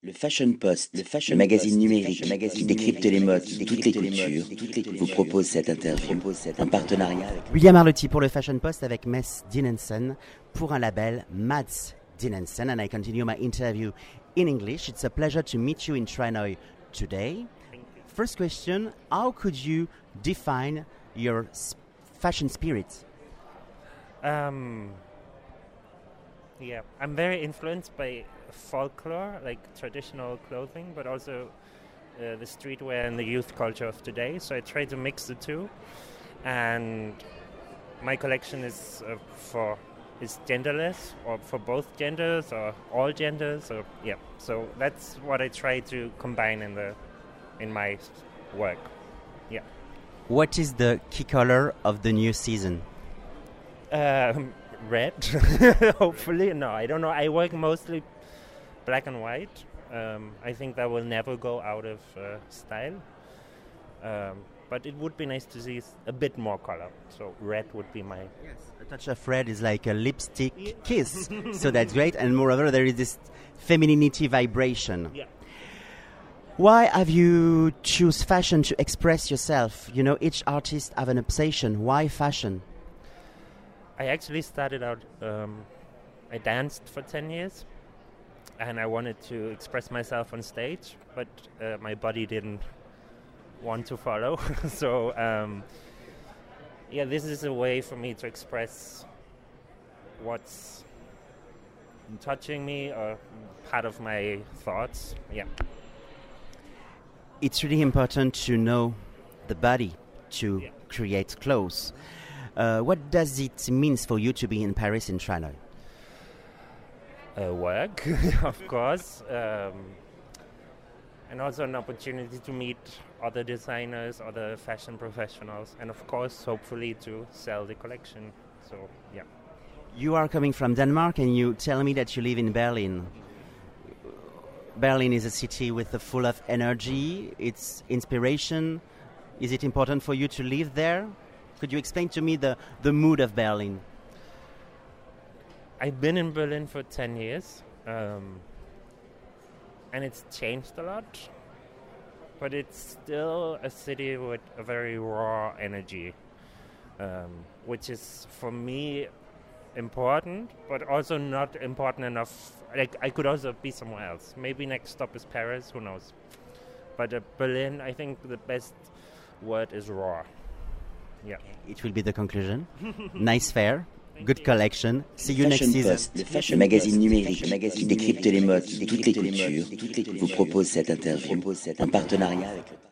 Le Fashion Post, le magazine numérique qui décrypte les modes, toutes les cultures, vous propose cette interview en partenariat avec William Arlotti pour le Fashion Post avec Mess Dinensen pour un label Mads Dinensen, and I continue my interview in English. It's a pleasure to meet you in Tranøy today. First question, how could you define your fashion spirit? Yeah, I'm very influenced by folklore, like traditional clothing, but also the streetwear and the youth culture of today. So I try to mix the two, and my collection is genderless, or for both genders or all genders. Or yeah, so that's what I try to combine in my work. Yeah. What is the key color of the new season? Red, hopefully. No, I don't know. I work mostly black and white. I think that will never go out of style. But it would be nice to see a bit more color. So red would be my... Yes, a touch of red is like a lipstick kiss. So that's great. And moreover, there is this femininity vibration. Yeah. Why have you choose fashion to express yourself? You know, each artist have an obsession. Why fashion? I actually started out, I danced for 10 years, and I wanted to express myself on stage, but my body didn't want to follow. So, yeah, this is a way for me to express what's touching me or part of my thoughts. Yeah. It's really important to know the body to create clothes. What does it mean for you to be in Paris in Tranøy? Work, of course, and also an opportunity to meet other designers, other fashion professionals, and of course, hopefully to sell the collection. So, yeah. You are coming from Denmark, and you tell me that you live in Berlin. Berlin is a city with full of energy. It's inspiration. Is it important for you to live there? Could you explain to me the mood of Berlin? I've been in Berlin for 10 years, and it's changed a lot, but it's still a city with a very raw energy, which is, for me, important, but also not important enough. Like, I could also be somewhere else. Maybe next stop is Paris, who knows. But Berlin, I think the best word is raw. Yeah. It will be the conclusion. Nice fair, good collection. See you next Fashion season. Post, le magazine numérique qui décrypte les modes, toutes les cultures, vous propose cette interview en partenariat avec le